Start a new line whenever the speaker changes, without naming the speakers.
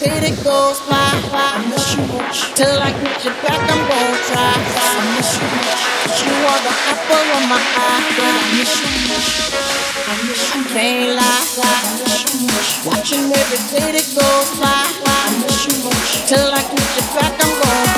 day that goes by. I miss you much. Till I get you back, I'm gonna try. I miss you much. 'Cause you are the apple of my eye. I miss you much. I miss you. I can't lie. I miss you much. Watching every day that goes by. I miss you much. Till I get you back, I'm gonna